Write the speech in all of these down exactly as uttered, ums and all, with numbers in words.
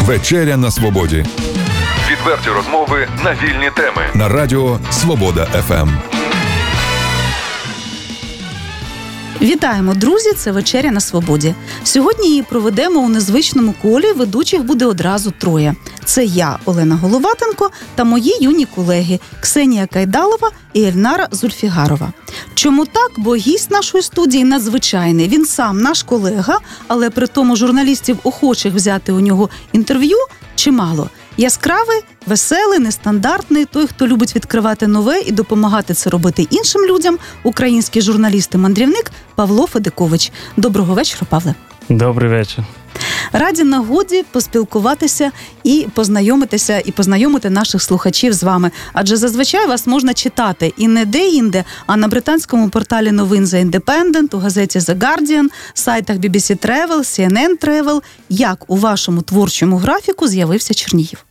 Вечеря на свободі. Відверті розмови на вільні теми. На радіо Свобода еф ем. Вітаємо, друзі! Це «Вечеря на свободі». Сьогодні її проведемо у незвичному колі, ведучих буде одразу троє. Це я, Олена Головатенко, та мої юні колеги Ксенія Кайдалова і Ельнара Зульфігарова. Чому так? Бо гість нашої студії надзвичайний. Він сам наш колега, але при тому журналістів, охочих взяти у нього інтерв'ю, чимало. Яскравий, веселий, нестандартний, той, хто любить відкривати нове і допомагати це робити іншим людям, український журналіст і мандрівник Павло Федикович. Доброго вечора, Павле. Добрий вечір. Раді нагоді поспілкуватися і познайомитися, і познайомити наших слухачів з вами. Адже зазвичай вас можна читати і не де-інде, а на британському порталі новин The Independent, у газеті The Guardian, сайтах бі бі сі Travel, сі ен ен Travel. Як у вашому творчому графіку з'явився Чернігів?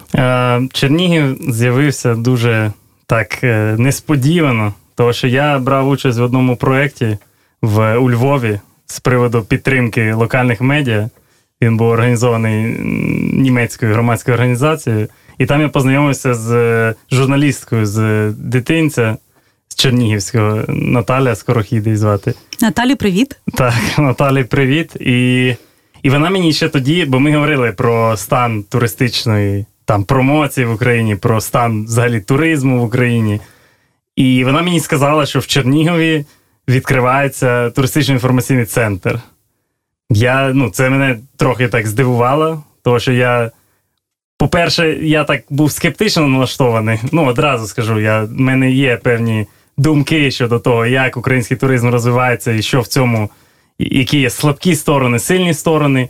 Чернігів з'явився дуже так несподівано, тому що я брав участь в одному проєкті в, у Львові з приводу підтримки локальних медіа. Він був організований німецькою громадською організацією. І там я познайомився з журналісткою з дитинця, з Чернігівського, Наталя Скорохід її звати. Наталі, привіт. Так, Наталі, привіт. І, і вона мені ще тоді, бо ми говорили про стан туристичної там, промоції в Україні, про стан взагалі туризму в Україні. І вона мені сказала, що в Чернігові відкривається туристично-інформаційний центр. Я, ну, це мене трохи так здивувало, тому що я, по-перше, я так був скептично налаштований. Ну, одразу скажу, я, в мене є певні думки щодо того, як український туризм розвивається і що в цьому, які є слабкі сторони, сильні сторони.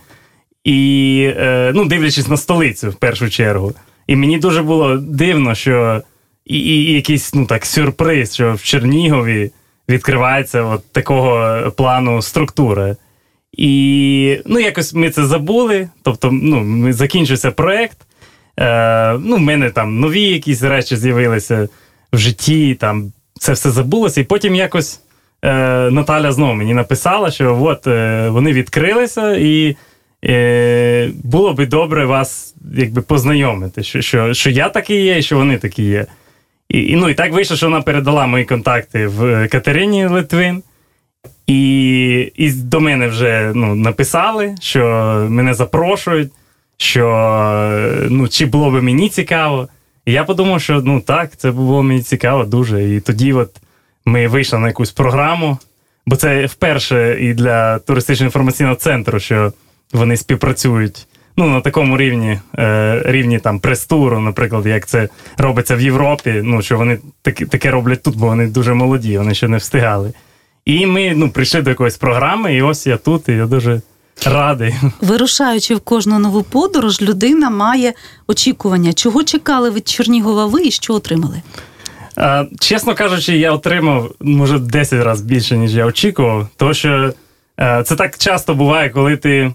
І, е, ну, дивлячись на столицю, в першу чергу. І мені дуже було дивно, що і, і, і якийсь, ну, так, сюрприз, що в Чернігові відкривається от такого плану структура. І, ну, якось ми це забули, тобто, ну, закінчився проєкт, е, ну, в мене там нові якісь речі з'явилися в житті, там, це все забулося, і потім якось е, Наталя знову мені написала, що от е, вони відкрилися, і е, було би добре вас, якби, познайомити, що, що, що я такий є, і що вони такі є. І, і, ну, і так вийшло, що вона передала мої контакти в Катерині Литвин. І, і до мене вже, ну, написали, що мене запрошують, що, ну, чи було б мені цікаво. І я подумав, що, ну, так, це було мені цікаво дуже. І тоді от ми вийшли на якусь програму, бо це вперше і для туристично-інформаційного центру, що вони співпрацюють, ну, на такому рівні, е, рівні там прес-туру, наприклад, як це робиться в Європі, ну, що вони таке, таке роблять тут, бо вони дуже молоді, вони ще не встигали. І ми, ну, прийшли до якоїсь програми, і ось я тут, і я дуже радий. Вирушаючи в кожну нову подорож, людина має очікування. Чого чекали від Чернігова ви і що отримали? А, чесно кажучи, я отримав, може, десять разів більше, ніж я очікував. Тому що а, це так часто буває, коли ти,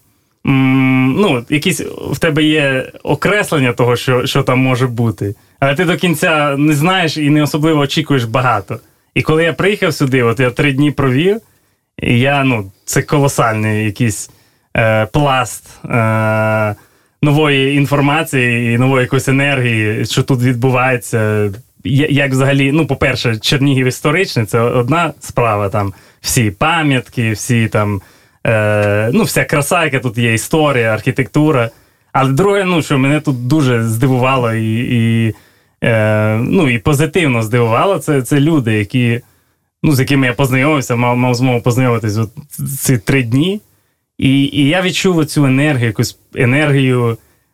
м, ну, якісь в тебе є окреслення того, що, що там може бути, але ти до кінця не знаєш і не особливо очікуєш багато. І коли я приїхав сюди, от я три дні провів, і я, ну, це колосальний якийсь е, пласт е, нової інформації і нової якоїсь енергії, що тут відбувається. Як взагалі, ну, по-перше, Чернігів історичний, це одна справа, там, всі пам'ятки, всі там, е, ну, вся краса, яка тут є, історія, архітектура. Але друге, ну, що мене тут дуже здивувало і, і Е, ну, і позитивно здивувало, це, це люди, які, ну, з якими я познайомився, мав, мав змогу познайомитися от ці три дні. І, і я відчув цю енергію, якусь енергію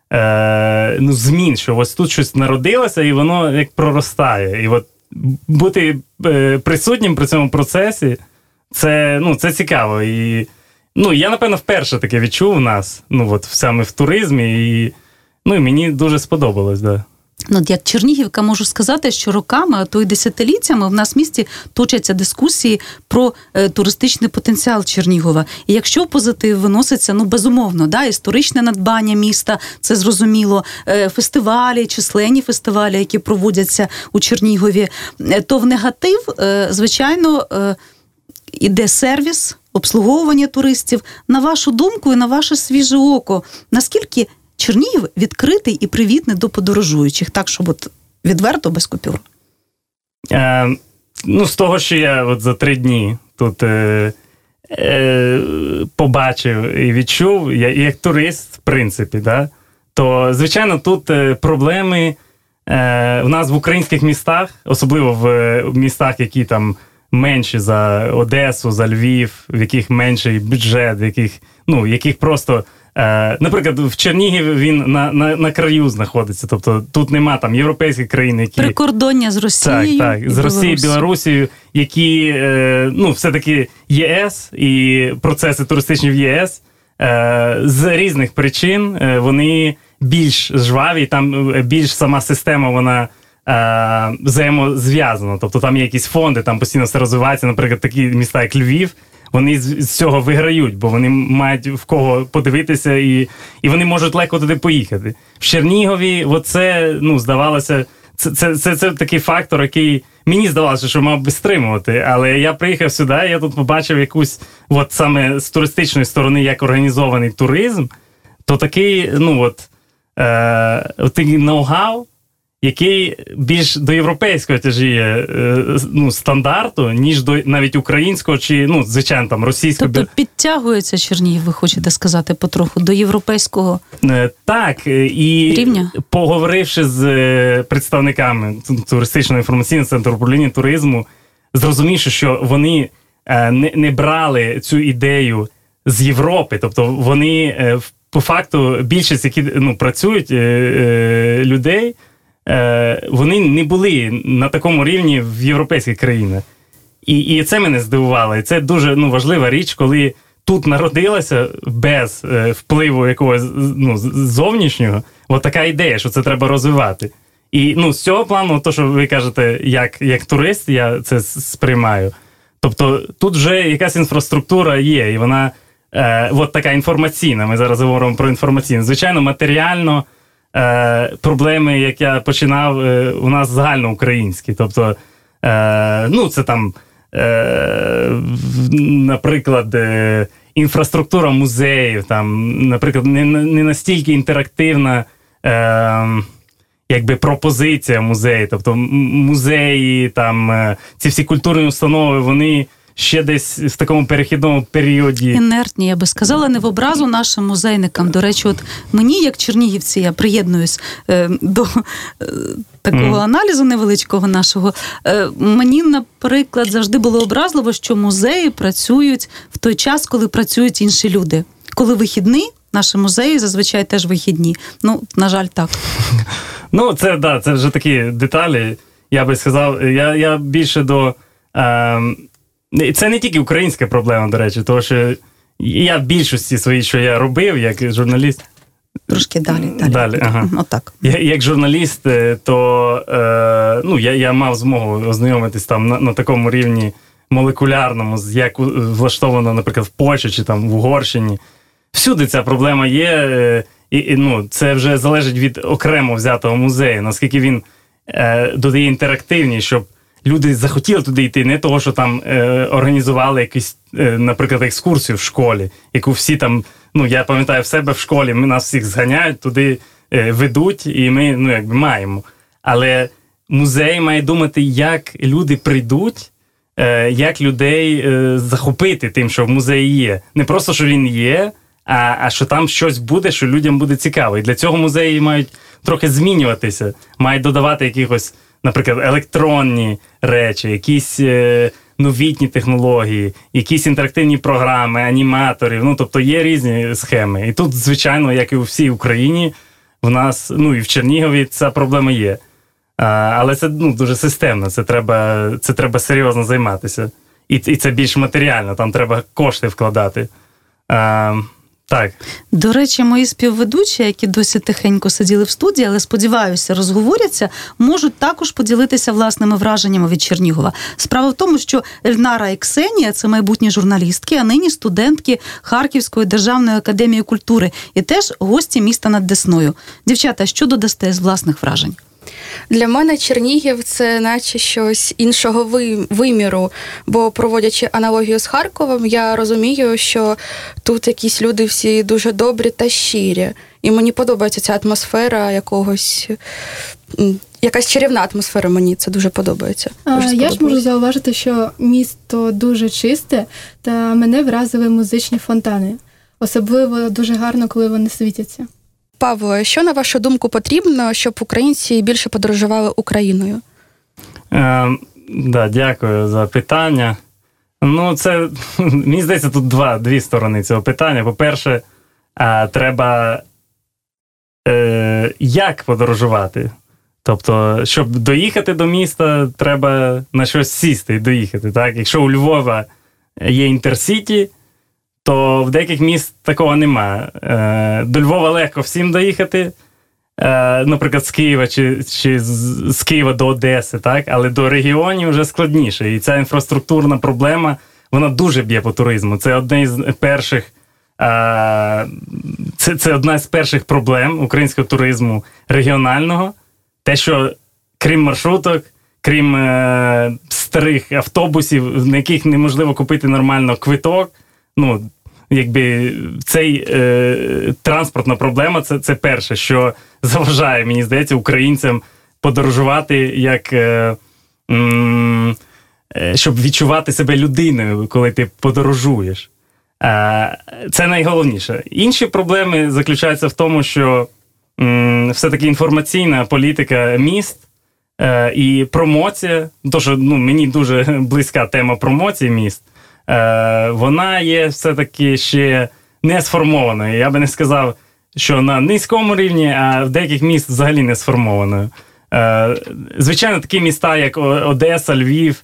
е, ну, змін, що ось тут щось народилося, і воно як проростає. І от бути е, присутнім при цьому процесі, це, ну, це цікаво. І, ну, я, напевно, вперше таке відчув у нас, ну, от саме в туризмі, і, ну, і мені дуже сподобалось, да. Ну, як чернігівка можу сказати, що роками, а то й десятиліттями в нас в місті точаться дискусії про е, туристичний потенціал Чернігова. І якщо в позитив виноситься, ну, безумовно, да, історичне надбання міста, це зрозуміло, е, фестивалі, численні фестивалі, які проводяться у Чернігові, е, то в негатив, е, звичайно, е, іде сервіс, обслуговування туристів. На вашу думку і на ваше свіже око, наскільки Чернігів відкритий і привітний до подорожуючих, так, щоб от відверто, без купюр? Е, ну, з того, що я от за три дні тут е, е, побачив і відчув, я як турист, в принципі, да, то, звичайно, тут е, проблеми е, в нас в українських містах, особливо в, в містах, які там менші за Одесу, за Львів, в яких менший бюджет, в яких, ну, в яких просто... Е, наприклад, в Чернігів він на, на, на краю знаходиться, тобто тут нема там європейських країн, які... Прикордоння з Росією. Так, так, з Росією, Білорусією, які, е, ну, все-таки ЄС і процеси туристичні в ЄС е, з різних причин е, вони більш жваві, там більш сама система, вона е, взаємозв'язана, тобто там є якісь фонди, там постійно все розвивається, наприклад, такі міста, як Львів, вони з, з цього виграють, бо вони мають в кого подивитися, і, і вони можуть легко туди поїхати. В Чернігові, оце, ну, здавалося, це, це, це, це такий фактор, який мені здавалося, що мав би стримувати, але я приїхав сюди, я тут побачив якусь, от саме з туристичної сторони, як організований туризм, то такий, ну, от, е, такий ноу-хау, який більш до європейського тяжіє ну, стандарту, ніж до навіть українського чи, ну, звичайно, там, російського. Тобто підтягується Чернігів, ви хочете сказати, потроху, до європейського так, і рівня? Поговоривши з представниками туристичного інформаційного центру управління туризму, зрозумівши, що вони не, не брали цю ідею з Європи, тобто вони, по факту, більшість, які, ну, працюють, людей, вони не були на такому рівні в європейських країнах. І, і це мене здивувало. І це дуже, ну, важлива річ, коли тут народилася без е, впливу якогось, ну, зовнішнього, от така ідея, що це треба розвивати. І, ну, з цього плану, то, що ви кажете, як, як турист, я це сприймаю. Тобто тут вже якась інфраструктура є, і вона е, от така інформаційна. Ми зараз говоримо про інформаційну. Звичайно, матеріально Е, проблеми, як я починав, е, у нас загальноукраїнські. Тобто, е, ну, це там, е, наприклад, е, інфраструктура музеїв, там, наприклад, не, не настільки інтерактивна е, якби пропозиція музею. Тобто музеї, там, е, ці всі культурні установи, вони ще десь в такому перехідному періоді. Інертні, я би сказала, не в образу нашим музейникам. До речі, от мені, як чернігівці, я приєднуюсь е, до е, такого mm. аналізу невеличкого нашого. Е, мені, наприклад, завжди було образливо, що музеї працюють в той час, коли працюють інші люди. Коли вихідний, наші музеї зазвичай теж вихідні. Ну, на жаль, так. Ну, це, да, це вже такі деталі, я би сказав. Я, я більше до... Е, Це не тільки українська проблема, до речі, тому що я в більшості своїй, що я робив, як журналіст... Трошки далі. Далі, далі ага. Отак. Я, як журналіст, то е, ну, я, я мав змогу ознайомитись там на, на такому рівні молекулярному, як влаштовано, наприклад, в Польщі чи там в Угорщині. Всюди ця проблема є, е, і, і ну, це вже залежить від окремо взятого музею, наскільки він е, додає інтерактивність, щоб люди захотіли туди йти, не того, що там е, організували якусь, е, наприклад, екскурсію в школі, яку всі там, ну, я пам'ятаю в себе в школі, ми нас всіх зганяють, туди е, ведуть, і ми, ну, якби маємо. Але музей має думати, як люди прийдуть, е, як людей е, захопити тим, що в музеї є. Не просто, що він є, а, а що там щось буде, що людям буде цікаво. І для цього музеї мають трохи змінюватися, мають додавати якихось, наприклад, електронні речі, якісь е, новітні технології, якісь інтерактивні програми, аніматорів. Ну, тобто є різні схеми. І тут, звичайно, як і у всій Україні, в нас, ну і в Чернігові ця проблема є. А, але це, ну, дуже системно, це треба, це треба серйозно займатися. І, і це більш матеріально, там треба кошти вкладати. А, Так. До речі, мої співведучі, які досі тихенько сиділи в студії, але, сподіваюся, розговоряться, можуть також поділитися власними враженнями від Чернігова. Справа в тому, що Ельнара і Ксенія – це майбутні журналістки, а нині студентки Харківської державної академії культури і теж гості міста над Десною. Дівчата, що додасте з власних вражень? Для мене Чернігів – це наче щось іншого виміру, бо, проводячи аналогію з Харковом, я розумію, що тут якісь люди всі дуже добрі та щирі. І мені подобається ця атмосфера якогось, якась чарівна атмосфера, мені це дуже подобається. Дуже я ж можу зауважити, що місто дуже чисте, та мене вразили музичні фонтани. Особливо дуже гарно, коли вони світяться. Павло, що, на вашу думку, потрібно, щоб українці більше подорожували Україною? Е, да, дякую за питання. Ну, це, мені здається, тут два, дві сторони цього питання. По-перше, е, треба е, як подорожувати? Тобто, щоб доїхати до міста, треба на щось сісти і доїхати. Так? Якщо у Львова є інтерсіті, то в деяких міст такого немає. Е, до Львова легко всім доїхати, е, наприклад, з Києва чи, чи з, з Києва до Одеси, так? Але до регіонів вже складніше. І ця інфраструктурна проблема, вона дуже б'є по туризму. Це одне з перших, е, це, це одна з перших проблем українського туризму регіонального. Те, що крім маршруток, крім е, старих автобусів, на яких неможливо купити нормально квиток, ну, якби цей е, транспортна проблема, це, це перше, що заважає, мені здається, українцям подорожувати, як, е, м, е, щоб відчувати себе людиною, коли ти подорожуєш. Е, це найголовніше. Інші проблеми заключаються в тому, що м, все-таки інформаційна політика міст е, і промоція, тому що ну, мені дуже близька тема промоції міст, вона є все-таки ще не сформованою. Я би не сказав, що на низькому рівні, а в деяких міст взагалі не сформованою. Звичайно, такі міста, як Одеса, Львів,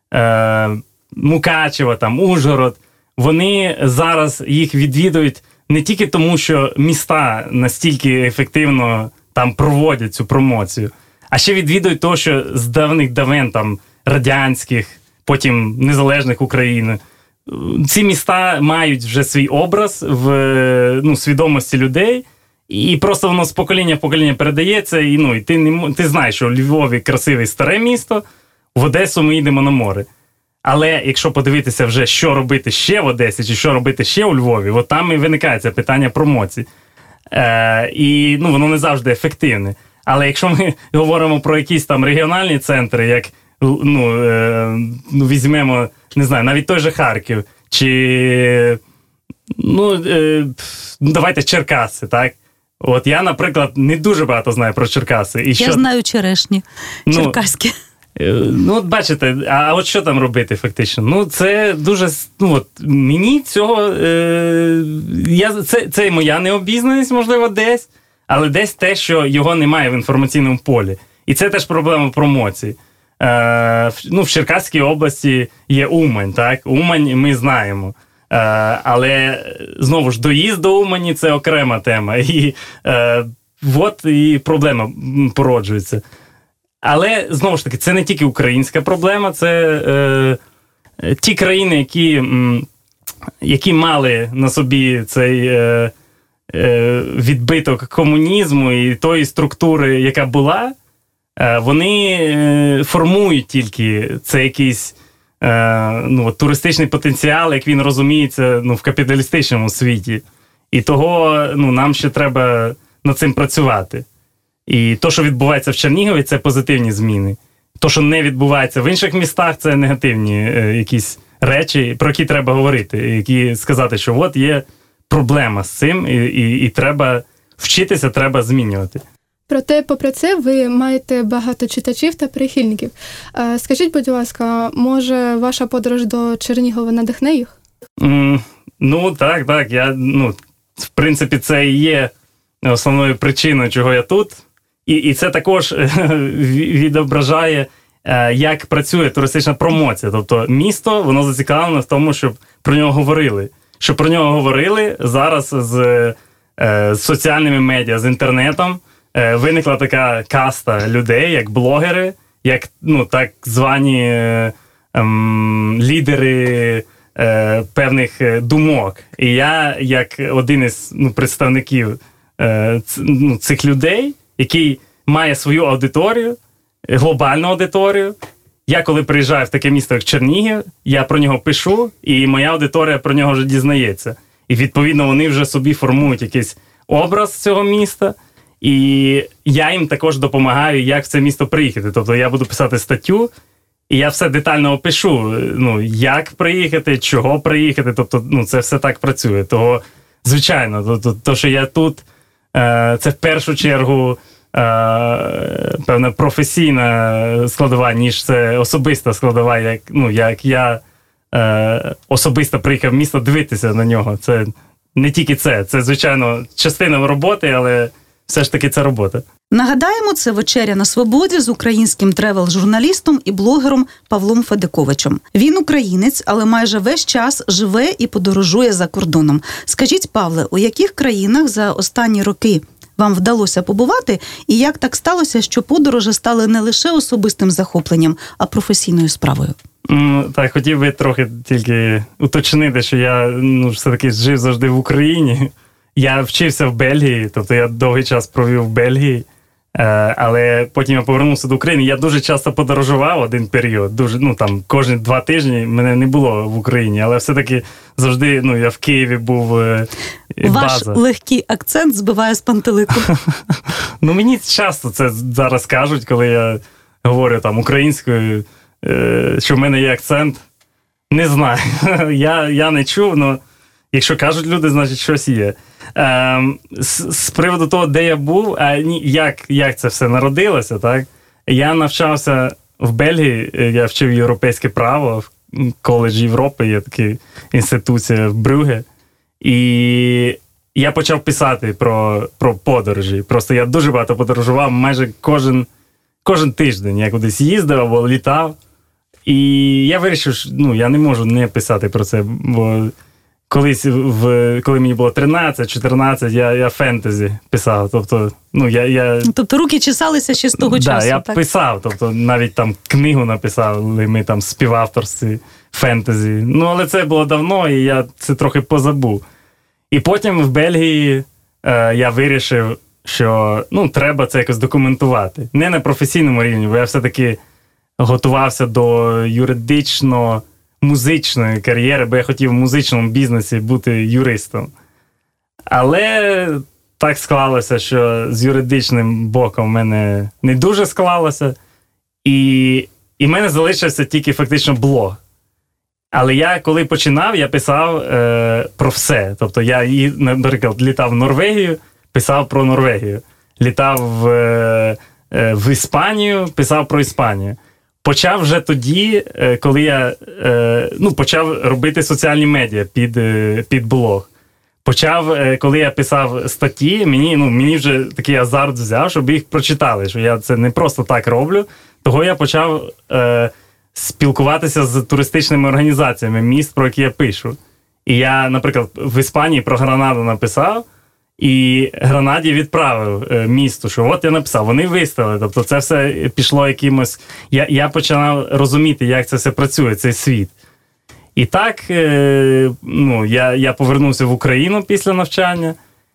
Мукачево, там, Ужгород, вони зараз їх відвідують не тільки тому, що міста настільки ефективно там проводять цю промоцію, а ще відвідують того, що з давних давен, там, радянських, потім незалежних України, ці міста мають вже свій образ в ну, свідомості людей, і просто воно з покоління в покоління передається, і, ну, і ти, не, ти знаєш, що у Львові красиве старе місто, в Одесу ми йдемо на море. Але якщо подивитися вже, що робити ще в Одесі, чи що робити ще у Львові, от там і виникає це питання промоції. Е, і ну, воно не завжди ефективне. Але якщо ми говоримо про якісь там регіональні центри, як ну, е, ну візьмемо, не знаю, навіть той же Харків, чи, ну, е, давайте Черкаси, так? От я, наприклад, не дуже багато знаю про Черкаси. І я що... знаю черешні, ну, черкаські. Е, ну, от бачите, а от що там робити фактично? Ну, це дуже, ну, от, мені цього, е, я, це, це моя необізнаність, можливо, десь, але десь те, що його немає в інформаційному полі. І це теж проблема промоції. Е, ну, в Черкаській області є Умань, так? Умань ми знаємо. Е, але, знову ж, доїзд до Умані – це окрема тема. І е, от і проблема породжується. Але, знову ж таки, це не тільки українська проблема, це е, ті країни, які, м, які мали на собі цей е, е, відбиток комунізму і тої структури, яка була, е, вони е, формують тільки це якийсь е, ну, туристичний потенціал, як він розуміється ну, в капіталістичному світі. І того ну, нам ще треба над цим працювати. І то, що відбувається в Чернігові, це позитивні зміни. То, що не відбувається в інших містах, це негативні е, якісь речі, про які треба говорити, які сказати, що от є проблема з цим, і, і, і треба вчитися, треба змінювати. Проте, попри це, ви маєте багато читачів та прихильників. Скажіть, будь ласка, може ваша подорож до Чернігова надихне їх? Mm, ну, так, так. Я, ну, в принципі, це і є основною причиною, чого я тут. І, і це також відображає, як працює туристична промоція. Тобто місто, воно зацікавлене в тому, щоб про нього говорили. Щоб про нього говорили зараз з, з соціальними медіа, з інтернетом. Виникла така каста людей, як блогери, як ну, так звані ем, лідери е, певних думок. І я, як один із ну, представників е, ц, ну, цих людей, який має свою аудиторію, глобальну аудиторію. Я коли приїжджаю в таке місто, як Чернігів, я про нього пишу, і моя аудиторія про нього вже дізнається. І, відповідно, вони вже собі формують якийсь образ цього міста, і я їм також допомагаю, як в це місто приїхати. Тобто я буду писати статтю, і я все детально опишу, ну, як приїхати, чого приїхати, тобто, ну, це все так працює. Того, звичайно, то, то, то що я тут, е, це в першу чергу е, певна професійна складова, ніж це особиста складова, як, ну, як я е, особисто приїхав в місто дивитися на нього. Це не тільки це, це, звичайно, частина роботи, але все ж таки це робота. Нагадаємо, це «Вечеря на свободі» з українським тревел-журналістом і блогером Павлом Федиковичем. Він українець, але майже весь час живе і подорожує за кордоном. Скажіть, Павле, у яких країнах за останні роки вам вдалося побувати, і як так сталося, що подорожі стали не лише особистим захопленням, а професійною справою? Mm, так, хотів би трохи тільки уточнити, що я, ну, все-таки жив завжди в Україні. Я вчився в Бельгії, тобто я довгий час провів в Бельгії, але потім я повернувся до України. Я дуже часто подорожував один період, дуже, ну, там, кожні два тижні мене не було в Україні, але все-таки завжди, ну, я в Києві був, база. Ваш легкий акцент збиває з пантелику. Ну, мені часто це зараз кажуть, коли я говорю там українською, що в мене є акцент. Не знаю, я, я не чув, але якщо кажуть люди, значить щось є. Е, з, з приводу того, де я був, а ні, як, як це все народилося, так? Я навчався в Бельгії, я вчив європейське право в коледжі Європи, є така інституція в Брюгге. І я почав писати про, про подорожі. Просто я дуже багато подорожував, майже кожен, кожен тиждень я кудись їздив або літав. І я вирішив, що ну, я не можу не писати про це, бо колись, в, коли мені було тринадцять-чотирнадцять, я, я фентезі писав. Тобто, ну, я, я... тобто руки чесалися ще з того да, часу, я так? писав, тобто навіть там книгу написали, ми там співавторстві фентезі. Ну, але це було давно, і я це трохи позабув. І потім в Бельгії е, я вирішив, що ну, треба це якось документувати. Не на професійному рівні, бо я все-таки готувався до юридично-музичної кар'єри, бо я хотів в музичному бізнесі бути юристом. Але так склалося, що з юридичним боком в мене не дуже склалося. І, і в мене залишився тільки фактично блог. Але я, коли починав, я писав е, про все. Тобто я, наприклад, літав в Норвегію, писав про Норвегію. Літав в, е, в Іспанію, писав про Іспанію. Почав вже тоді, е, коли я е, ну, почав робити соціальні медіа під, е, під блог. Почав, е, коли я писав статті, мені, ну, мені вже такий азарт взяв, щоб їх прочитали, що я це не просто так роблю. Того я почав... Е, спілкуватися з туристичними організаціями міст, про які я пишу. І я, наприклад, в Іспанії про Гранаду написав, і Гранаді відправив е, місту, що от я написав, вони виставили. Тобто це все пішло якимось... Я, я починав розуміти, як це все працює, цей світ. І так, е, ну, я, я повернувся в Україну після навчання,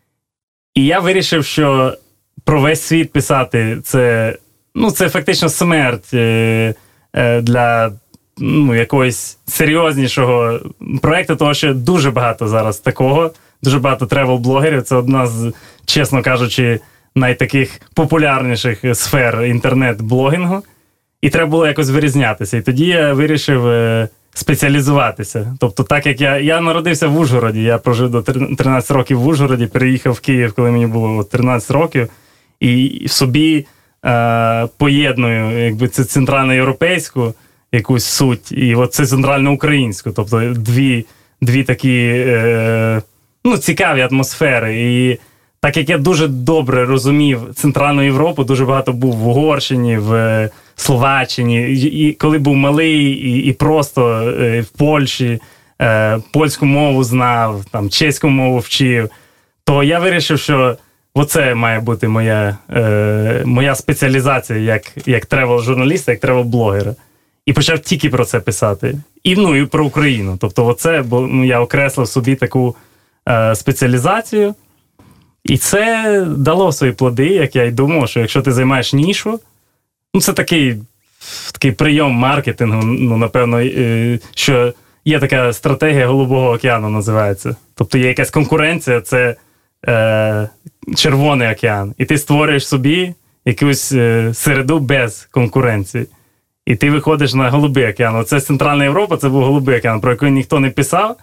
і я вирішив, що про весь світ писати це, ну, це фактично смерть е, для ну, якогось серйознішого проєкту, тому що дуже багато зараз такого, дуже багато тревел-блогерів. Це одна з, чесно кажучи, найтаких популярніших сфер інтернет-блогінгу. І треба було якось вирізнятися. І тоді я вирішив спеціалізуватися. Тобто так як я, я народився в Ужгороді, я прожив до тринадцяти років в Ужгороді, переїхав в Київ, коли мені було тринадцять років, і в собі е, поєдную якби це центральноєвропейську якусь суть, і от це центральноукраїнську. Тобто дві, дві такі е, ну, цікаві атмосфери. І так як я дуже добре розумів Центральну Європу, дуже багато був в Угорщині, в Словаччині, і коли був малий, і, і просто е, в Польщі, е, польську мову знав, там, чеську мову вчив, то я вирішив, що оце має бути моя, е, моя спеціалізація як, як тревел-журналіста, як тревел-блогера. І почав тільки про це писати. І, ну, і про Україну. Тобто оце, бо ну, я окреслив собі таку е, спеціалізацію. І це дало свої плоди, як я й думав, що якщо ти займаєш нішу, ну це такий, такий прийом маркетингу, ну, напевно, що є така стратегія Голубого океану, називається. Тобто є якась конкуренція, це е, Червоний океан. І ти створюєш собі якусь е, середу без конкуренції. І ти виходиш на Голубий океан. Оце Центральна Європа, це був Голубий океан, про який ніхто не писав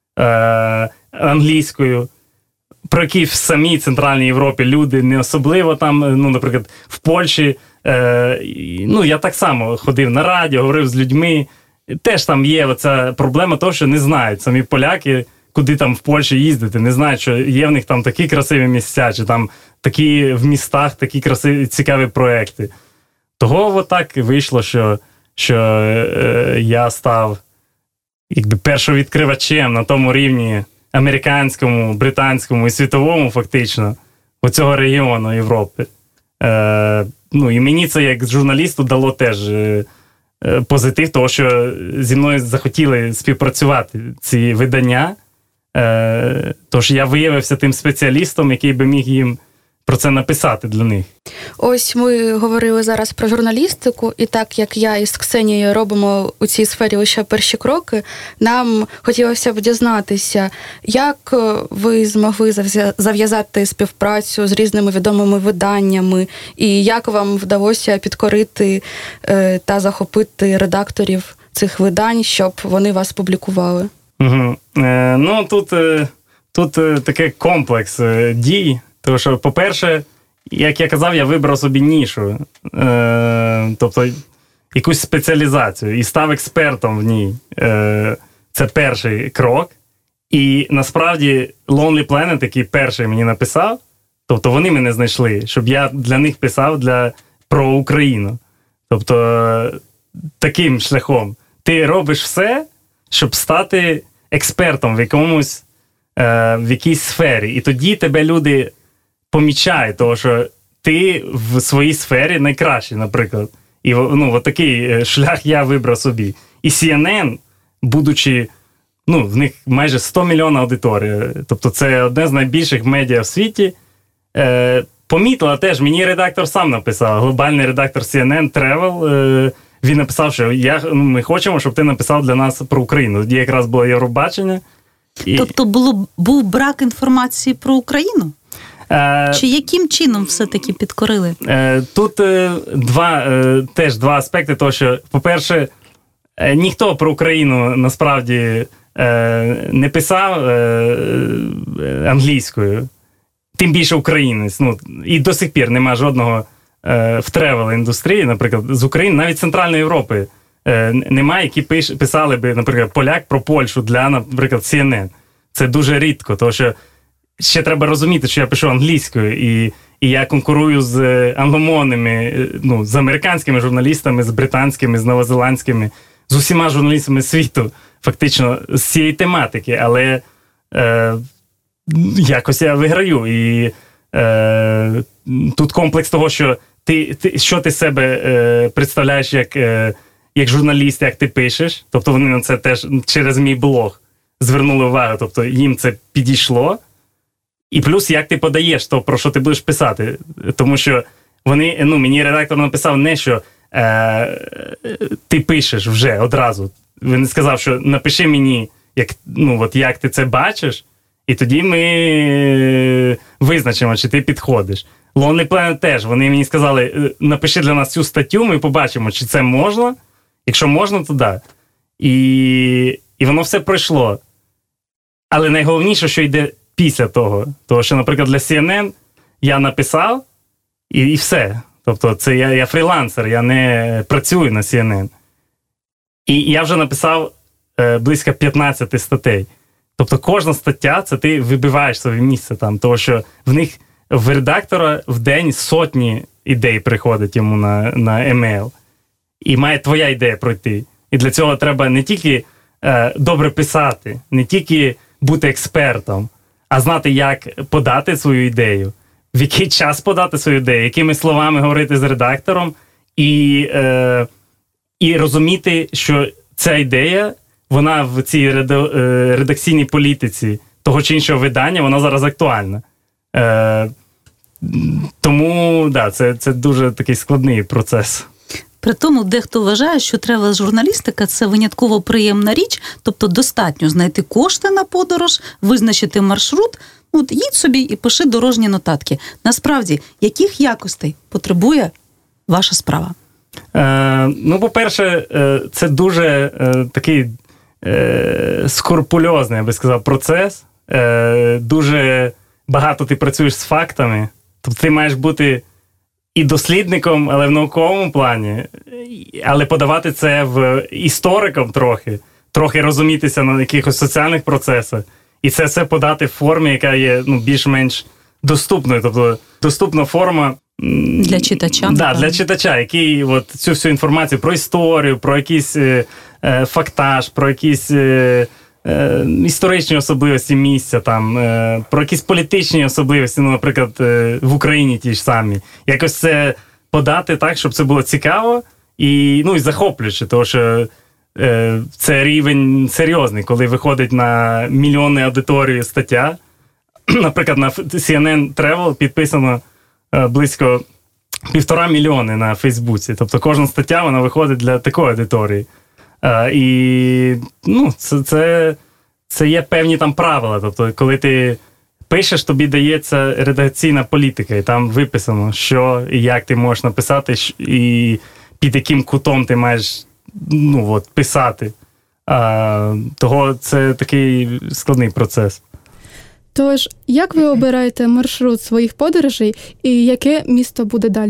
е, англійською, про які в самій Центральній Європі люди не особливо там, ну, наприклад, в Польщі, е, ну, я так само ходив на радіо, говорив з людьми, теж там є оця проблема того, що не знають самі поляки, куди там в Польщі їздити, не знають, що є в них там такі красиві місця, чи там такі в містах такі красиві, цікаві проекти. Того отак вийшло, що, що е, я став якби першовідкривачем на тому рівні американському, британському і світовому, фактично, у цього регіону Європи. Е, ну, і мені це, як журналісту, дало теж е, позитив, того, що зі мною захотіли співпрацювати ці видання, е, тож я виявився тим спеціалістом, який би міг їм про це написати для них. Ось ми говорили зараз про журналістику, і так як я із Ксенією робимо у цій сфері лише перші кроки, нам хотілося б дізнатися, як ви змогли зав'язати співпрацю з різними відомими виданнями, і як вам вдалося підкорити та захопити редакторів цих видань, щоб вони вас публікували? Угу. Е, ну, тут, тут такий комплекс дій. Тому що, по-перше, як я казав, я вибрав собі нішу, е, тобто якусь спеціалізацію і став експертом в ній. Е, це перший крок. І насправді Lonely Planet, який перший мені написав, тобто вони мене знайшли, щоб я для них писав для, про Україну. Тобто таким шляхом. Ти робиш все, щоб стати експертом в якомусь, е, в якійсь сфері. І тоді тебе люди помічають, того, що ти в своїй сфері найкращий, наприклад. І ну, от такий шлях я вибрав собі. І Сі Ен Ен, будучи, ну, в них майже сто мільйонів аудиторія, тобто це одне з найбільших медіа в світі, е, помітила теж, мені редактор сам написав, глобальний редактор Сі Ен Ен Travel, е, він написав, що я, ну, ми хочемо, щоб ти написав для нас про Україну. Тоді якраз було Євробачення. І... Тобто було, був брак інформації про Україну? Чи яким чином все-таки підкорили? Тут два, теж два аспекти того, що, по-перше, ніхто про Україну насправді не писав англійською, тим більше українець. Ну, і до сих пір немає жодного в тревел-індустрії, наприклад, з України, навіть Центральної Європи немає, які пиш, писали би, наприклад, поляк про Польщу для, наприклад, Сі Ен Ен. Це дуже рідко, тому що ще треба розуміти, що я пишу англійською, і, і я конкурую з англомовними, ну, з американськими журналістами, з британськими, з новозеландськими, з усіма журналістами світу, фактично, з цієї тематики, але е, якось я виграю. І е, тут комплекс того, що ти, ти, що ти себе е, представляєш як, е, як журналіст, як ти пишеш, тобто вони на це теж через мій блог звернули увагу, тобто їм це підійшло. І плюс, як ти подаєш то, про що ти будеш писати. Тому що вони, ну, мені редактор написав не, що е, ти пишеш вже одразу. Він сказав, що напиши мені, як, ну, от, як ти це бачиш, і тоді ми визначимо, чи ти підходиш. Lonely Planet теж, вони мені сказали, напиши для нас цю статтю, ми побачимо, чи це можна. Якщо можна, то да. І, і воно все пройшло. Але найголовніше, що йде після того. Тому що, наприклад, для Сі Ен Ен я написав, і, і все. Тобто це я, я фрілансер, я не працюю на Сі Ен Ен. І я вже написав е, близько п'ятнадцять статей. Тобто кожна стаття, це ти вибиваєш своє місце там, тому що в них, в редактора в день сотні ідей приходить йому на, на емейл. І має твоя ідея пройти. І для цього треба не тільки е, добре писати, не тільки бути експертом, а знати, як подати свою ідею, в який час подати свою ідею, якими словами говорити з редактором, і, е, і розуміти, що ця ідея, вона в цій редакційній політиці того чи іншого видання, вона зараз актуальна. Е, тому, да, це, це дуже такий складний процес. При тому, дехто вважає, що тревел-журналістика – це винятково приємна річ, тобто достатньо знайти кошти на подорож, визначити маршрут, от їдь собі і пиши дорожні нотатки. Насправді, яких якостей потребує ваша справа? Е, ну, по-перше, е, це дуже е, такий е, скрупульозний, я би сказав, процес. Е, дуже багато ти працюєш з фактами. Тобто ти маєш бути і дослідником, але в науковому плані, але подавати це в істориком трохи, трохи розумітися на якихось соціальних процесах. І це все подати в формі, яка є, ну, більш-менш доступною. Тобто доступна форма для читача. Да, для читача, який от цю всю інформацію про історію, про якийсь е, е, фактаж, про якісь е, е, історичні особливості місця, там, е, про якісь політичні особливості, ну, наприклад, е, в Україні ті ж самі. Якось це подати так, щоб це було цікаво і, ну, і захоплююче, тому що е, це рівень серйозний, коли виходить на мільйонну аудиторію стаття. Наприклад, на Сі Ен Ен Travel підписано близько півтора мільйони на Фейсбуці. Тобто кожна стаття, вона виходить для такої аудиторії. А, і, ну, це, це, це є певні там правила. Тобто, коли ти пишеш, тобі дається редакційна політика, і там виписано, що і як ти можеш написати, і під яким кутом ти маєш, ну, от, писати. А, того це такий складний процес. Тож, як ви обираєте маршрут своїх подорожей і яке місто буде далі?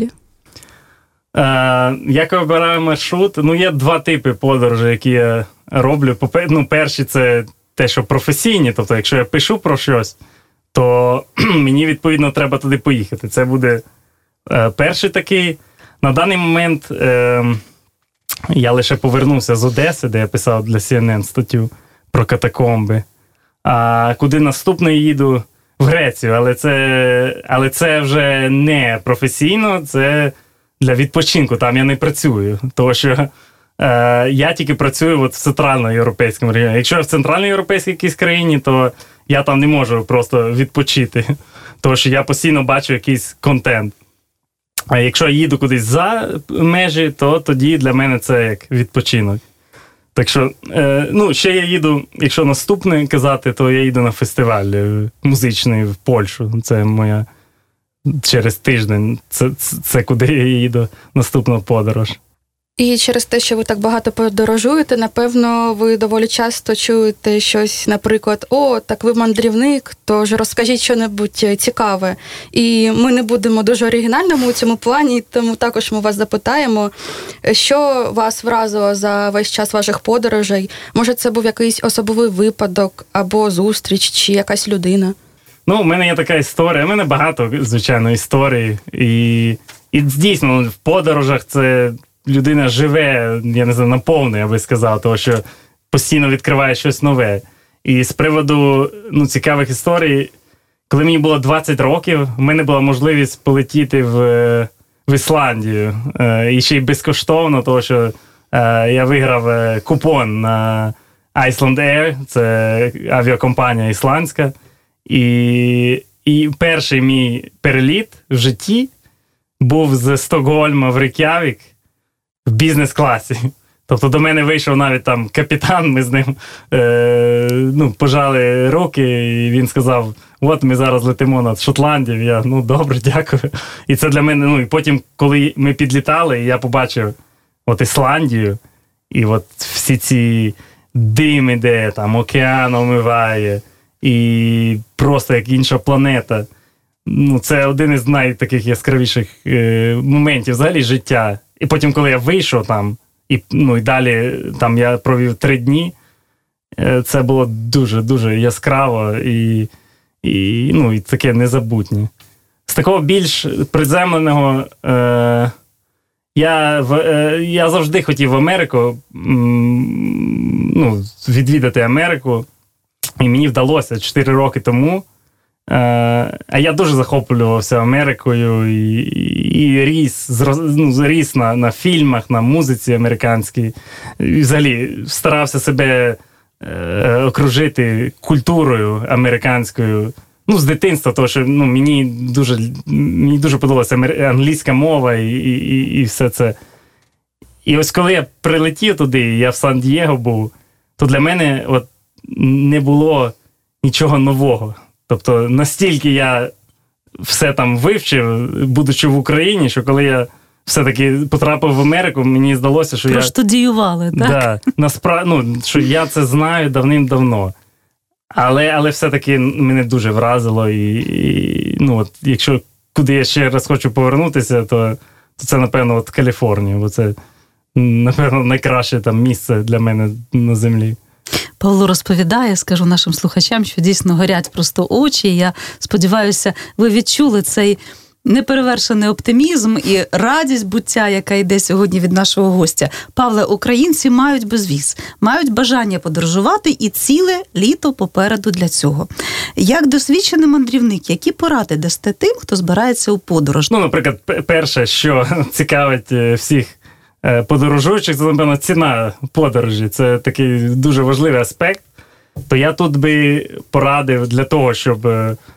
Е, як я обираю маршрут? Ну, є два типи подорожей, які я роблю. Ну, перші – це те, що професійні. Тобто, якщо я пишу про щось, то мені, відповідно, треба туди поїхати. Це буде е, перший такий. На даний момент е, я лише повернувся з Одеси, де я писав для Сі Ен Ен статтю про катакомби. А куди наступний їду? В Грецію, але це, але це вже не професійно, це для відпочинку, там я не працюю, тому що е, я тільки працюю от в центральноєвропейському регіоні. Якщо я в центральноєвропейській якійсь країні, то я там не можу просто відпочити, тому що я постійно бачу якийсь контент. А якщо я їду кудись за межі, то тоді для мене це як відпочинок. Так що, е, ну, ще я їду, якщо наступне казати, то я їду на фестиваль музичний в Польщу. Це моя через тиждень. Це, це, це куди я їду наступна подорож. І через те, що ви так багато подорожуєте, напевно, ви доволі часто чуєте щось, наприклад, «О, так ви мандрівник, тож розкажіть що-небудь цікаве». І ми не будемо дуже оригінальними у цьому плані, тому також ми вас запитаємо, що вас вразило за весь час ваших подорожей? Може, це був якийсь особливий випадок, або зустріч, чи якась людина? Ну, у мене є така історія, у мене багато, звичайно, історій. І, і дійсно, в подорожах це... людина живе, я не знаю, наповну, я би сказав, тому що постійно відкриває щось нове. І з приводу, ну, цікавих історій, коли мені було двадцять років, в мене була можливість полетіти в, в Ісландію. І ще й безкоштовно, тому що я виграв купон на Iceland Air, це авіакомпанія ісландська. І, і перший мій переліт в житті був з Стокгольма в Рейк'явік, в бізнес-класі. Тобто до мене вийшов навіть там капітан, ми з ним е, ну, пожали руки, і він сказав, от ми зараз летимо над Шотландією. Я, ну, добре, дякую. І це для мене, ну, і потім, коли ми підлітали, я побачив от Ісландію, і от всі ці дими, де там океан омиває, і просто як інша планета. Ну, це один із найтаких яскравіших е, моментів взагалі життя. І потім, коли я вийшов там, і, ну, і далі там я провів три дні, це було дуже-дуже яскраво і, і, ну, і таке незабутнє. З такого більш приземленого, е, я, в, е, я завжди хотів в Америку, м, ну, відвідати Америку, і мені вдалося чотири роки тому. А я дуже захоплювався Америкою і, і, і ріс, ну, ріс на, на фільмах, на музиці американській. І взагалі старався себе е, окружити культурою американською ну, з дитинства, тому що ну, мені дуже, мені дуже подобалася англійська мова і, і, і все це. І ось коли я прилетів туди, я в Сан-Дієго був, то для мене от не було нічого нового. Тобто настільки я все там вивчив, будучи в Україні, що коли я все-таки потрапив в Америку, мені здалося, що Проштудіювали, я... так? Да, насправ... ну, що я це знаю давним-давно. Але, але все-таки мене дуже вразило. І, і ну, от, якщо куди я ще раз хочу повернутися, то, то це, напевно, от Каліфорнія. Бо це, напевно, найкраще там місце для мене на землі. Павло розповідає, скажу нашим слухачам, що дійсно горять просто очі. Я сподіваюся, ви відчули цей неперевершений оптимізм і радість буття, яка йде сьогодні від нашого гостя. Павле, українці мають безвіз, мають бажання подорожувати і ціле літо попереду для цього. Як досвідчений мандрівник, які поради дасте тим, хто збирається у подорож? Ну, наприклад, перше, що цікавить всіх подорожуючих, це, напевно, ціна подорожі. Це такий дуже важливий аспект. То я тут би порадив для того, щоб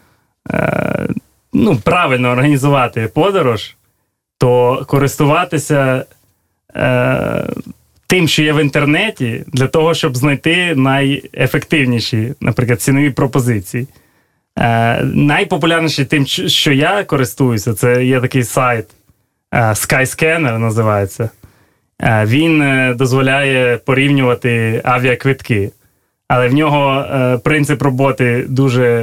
ну, правильно організувати подорож, то користуватися е, тим, що є в інтернеті, для того, щоб знайти найефективніші, наприклад, цінові пропозиції. Е, найпопулярніші тим, що я користуюся, це є такий сайт е, Skyscanner називається. Е, він е, дозволяє порівнювати авіаквитки. Але в нього е, принцип роботи дуже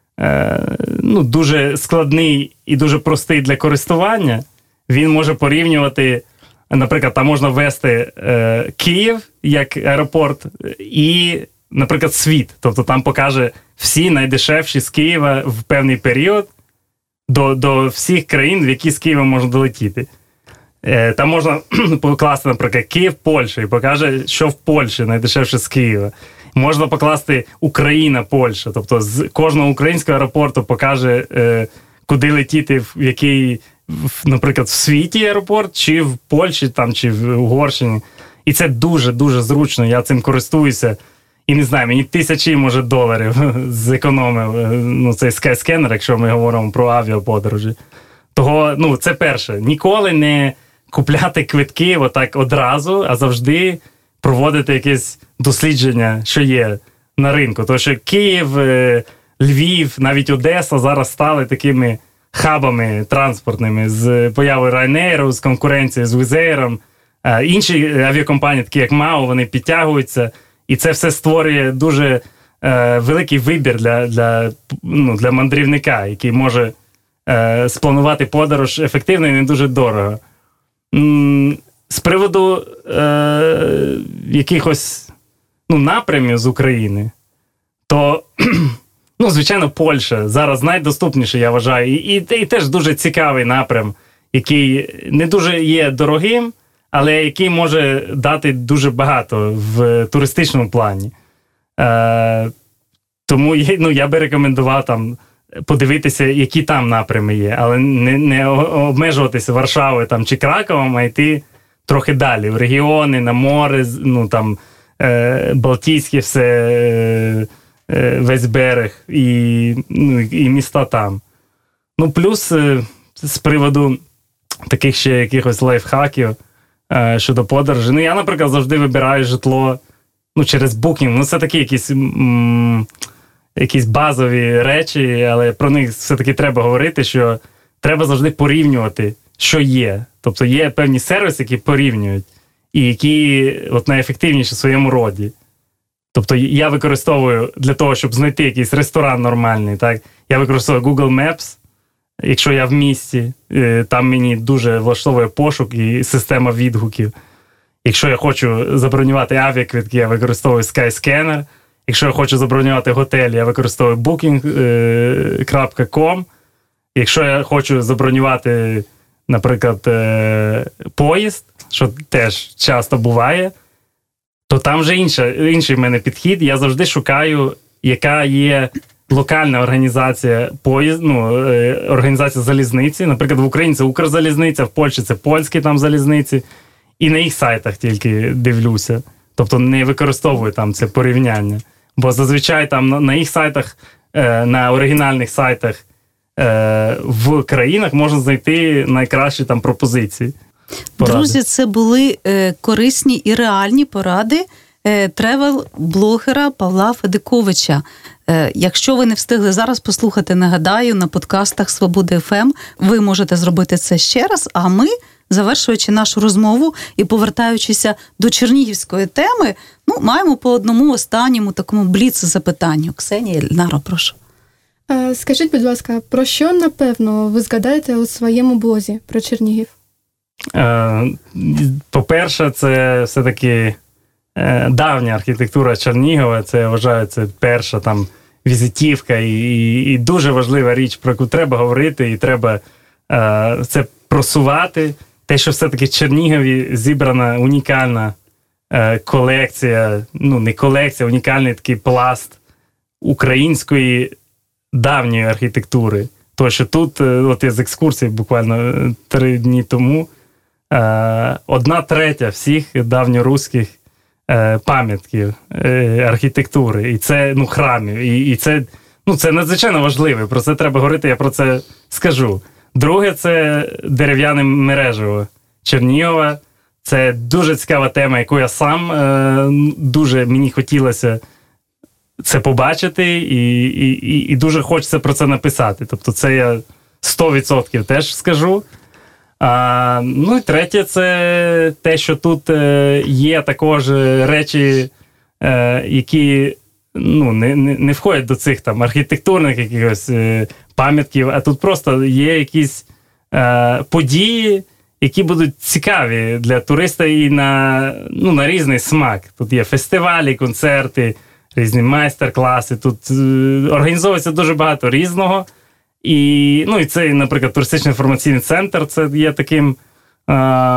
ну, дуже складний і дуже простий для користування. Він може порівнювати, наприклад, там можна ввести е, Київ як аеропорт і, наприклад, світ. Тобто там покаже всі найдешевші з Києва в певний період до, до всіх країн, в які з Києва можна долетіти. Е, там можна покласти, наприклад, Київ, Польща, і покаже, що в Польщі найдешевше з Києва. Можна покласти Україна, Польща. Тобто з кожного українського аеропорту покаже, е, куди летіти, в який, в, наприклад, в світі аеропорт, чи в Польщі, там, чи в Угорщині. І це дуже-дуже зручно. Я цим користуюся. І не знаю, мені тисячі, може, доларів зекономив ну, цей Skyscanner, якщо ми говоримо про авіаподорожі. Того, ну, це перше. Ніколи не купляти квитки отак одразу, а завжди проводити якесь дослідження, що є на ринку. Тому що Київ, Львів, навіть Одеса зараз стали такими хабами транспортними з появою Ryanair, з конкуренцією з Wizz Air. Інші авіакомпанії, такі як МАУ, вони підтягуються. І це все створює дуже е, великий вибір для, для, ну, для мандрівника, який може е, спланувати подорож ефективно і не дуже дорого. М- з приводу е, якихось ну, напрямів з України, то, ну, звичайно, Польща зараз найдоступніше, я вважаю, і, і, і теж дуже цікавий напрям, який не дуже є дорогим, але який може дати дуже багато в туристичному плані. Е, тому ну, я би рекомендував там подивитися, які там напрями є, але не, не обмежуватися Варшавою там, чи Краковом, а йти трохи далі, в регіони, на море, ну там е, Балтійське все, е, е, весь берег і, ну, і міста там. Ну, плюс е, з приводу таких ще якихось лайфхаків е, щодо подорожі. Ну, я, наприклад, завжди вибираю житло ну, через Booking. Ну, це такі якісь, м- якісь базові речі, але про них все-таки треба говорити, що треба завжди порівнювати, що є. Тобто є певні сервіси, які порівнюють, і які от найефективніші в своєму роді. Тобто я використовую для того, щоб знайти якийсь ресторан нормальний, так, я використовую Google Maps, якщо я в місті, там мені дуже влаштовує пошук і система відгуків. Якщо я хочу забронювати авіаквитки, я використовую Skyscanner. Якщо я хочу забронювати готель, я використовую букінг крапка ком. Якщо я хочу забронювати, наприклад, поїзд, що теж часто буває, то там вже інша, інший в мене підхід. Я завжди шукаю, яка є локальна організація поїзд, ну, організація залізниці. Наприклад, в Україні це Укрзалізниця, в Польщі це польські там залізниці. І на їх сайтах тільки дивлюся. Тобто не використовую там це порівняння. Бо зазвичай там на їх сайтах е, на оригінальних сайтах е, в країнах можна знайти найкращі там пропозиції. Поради. Друзі, це були е, корисні і реальні поради е, тревел-блогера Павла Федиковича. Е, якщо ви не встигли зараз послухати, нагадаю, на подкастах Свободи еф ем, ви можете зробити це ще раз, а ми, завершуючи нашу розмову і повертаючися до чернігівської теми, ну, маємо по одному останньому такому бліц-запитанню. Ксенія, Ельнаро, прошу. Е, скажіть, будь ласка, про що, напевно, ви згадаєте у своєму блозі про Чернігів? По-перше, це все-таки давня архітектура Чернігова, це, я вважаю, це перша там візитівка і, і, і дуже важлива річ, про яку треба говорити, і треба е, це просувати. Те, що все-таки в Чернігові зібрана унікальна е, колекція, ну не колекція, унікальний такий пласт української давньої архітектури. То, що тут, от я з екскурсії буквально три дні тому, е, одна третя всіх давньоруських е, пам'ятків е, архітектури, і це, ну, храмів, і, і це, ну, це надзвичайно важливо, про це треба говорити, я про це скажу. Друге, це дерев'яне мережево Чернігова. Це дуже цікава тема, яку я сам е, дуже мені хотілося це побачити, і, і, і дуже хочеться про це написати. Тобто це я сто відсотків теж скажу. А, ну і третє, це те, що тут е, є також речі, е, які ну, не, не, не входять до цих там архітектурних якихось е, пам'ятків, а тут просто є якісь е, події, які будуть цікаві для туриста і на, ну, на різний смак. Тут є фестивалі, концерти, різні майстер-класи, тут е, організовується дуже багато різного. І, ну, і цей, наприклад, туристичний інформаційний центр, це є таким, е,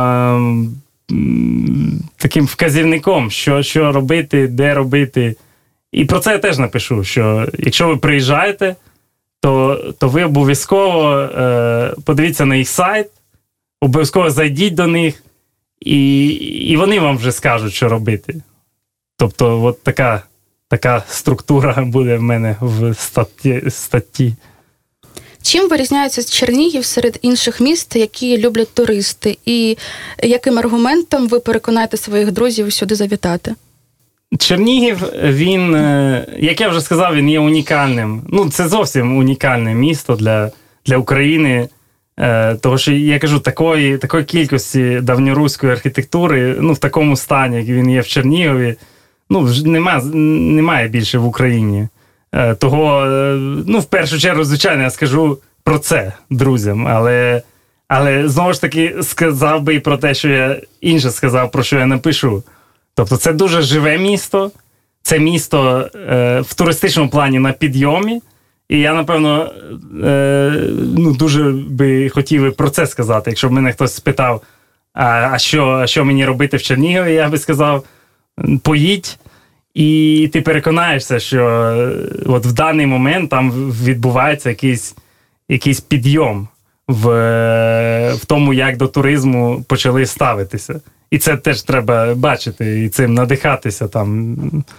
таким вказівником, що, що робити, де робити. І про це я теж напишу, що якщо ви приїжджаєте, то, то ви обов'язково е, подивіться на їх сайт, обов'язково зайдіть до них, і, і вони вам вже скажуть, що робити. Тобто, от така, така структура буде в мене в статті. статті. Чим вирізняється Чернігів серед інших міст, які люблять туристи? І яким аргументом ви переконаєте своїх друзів сюди завітати? Чернігів, він, як я вже сказав, він є унікальним. Ну, це зовсім унікальне місто для, для України. Тому що, я кажу, такої, такої кількості давньоруської архітектури, ну, в такому стані, як він є в Чернігові, ну, немає, немає більше в Україні. Того, ну, в першу чергу, звичайно, я скажу про це друзям, але, але знову ж таки сказав би і про те, що я інше сказав, про що я напишу. Тобто це дуже живе місто, це місто е, в туристичному плані на підйомі, і я, напевно, е, ну, дуже би хотів про це сказати. Якщо б мене хтось спитав, а, а, що, а що мені робити в Чернігові, я би сказав, поїдь, і ти переконаєшся, що от в даний момент там відбувається якийсь, якийсь підйом в, в тому, як до туризму почали ставитися. І це теж треба бачити, і цим надихатися там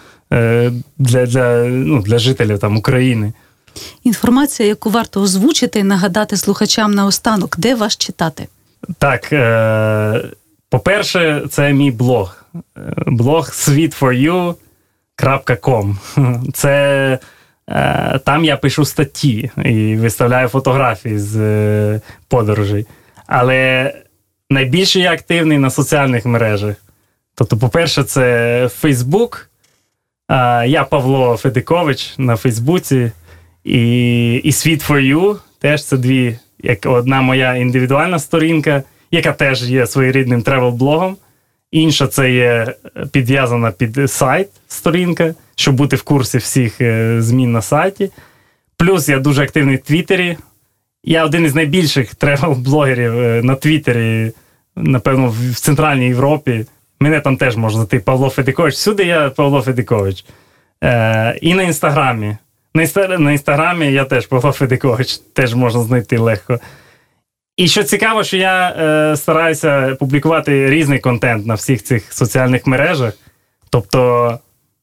для, для, ну, для жителів там України. Інформація, яку варто озвучити і нагадати слухачам наостанок, де вас читати? Так, е, по-перше, це мій блог. Блог світ фор ю крапка ком. Це е, там я пишу статті і виставляю фотографії з е, подорожей. Але найбільше я активний на соціальних мережах. Тобто, по-перше, це Фейсбук. Е, я Павло Федикович на Фейсбуці. І, і світ фор ю теж це дві, як одна моя індивідуальна сторінка, яка теж є своєрідним тревел-блогом. Інша це є підв'язана під сайт сторінка, щоб бути в курсі всіх змін на сайті. Плюс я дуже активний в Твіттері. Я один із найбільших тревел-блогерів на Твіттері, напевно, в Центральній Європі. Мене там теж можна знайти Павло Федикович. Всюди я Павло Федикович. Е, і на Інстаграмі. На, інстагр... на Інстаграмі я теж Павло Федикович. Теж можна знайти легко. І що цікаво, що я е, стараюся публікувати різний контент на всіх цих соціальних мережах. Тобто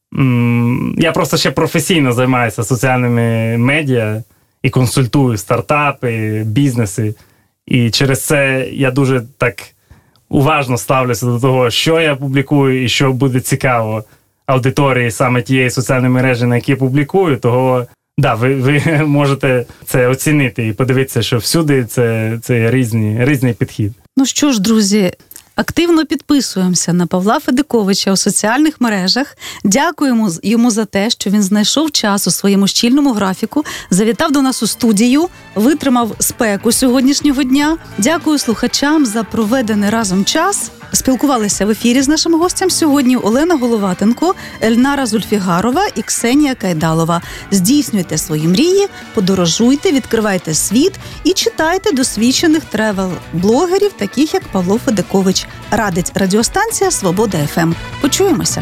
м, я просто ще професійно займаюся соціальними медіа і консультую стартапи, бізнеси. І через це я дуже так уважно ставлюся до того, що я публікую і що буде цікаво аудиторії саме тієї соціальної мережі, на якій я публікую. Того, да, ви, ви можете це оцінити і подивитися, що всюди це, це різні, різний підхід. Ну що ж, друзі, активно підписуємося на Павла Федиковича у соціальних мережах. Дякуємо йому за те, що він знайшов час у своєму щільному графіку, завітав до нас у студію, витримав спеку сьогоднішнього дня. Дякую слухачам за проведений разом час. Спілкувалися в ефірі з нашим гостем сьогодні Олена Головатенко, Ельнара Зульфігарова і Ксенія Кайдалова. Здійснюйте свої мрії, подорожуйте, відкривайте світ і читайте досвідчених тревел-блогерів, таких як Павло Федикович. Радить радіостанція «Свобода еф ем». Почуємося.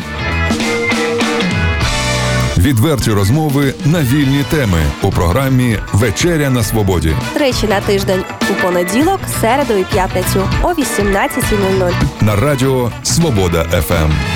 Відверті розмови на вільні теми у програмі «Вечеря на свободі». Тричі на тиждень у понеділок, середу і п'ятницю о вісімнадцятій нуль нуль. На радіо «Свобода еф ем».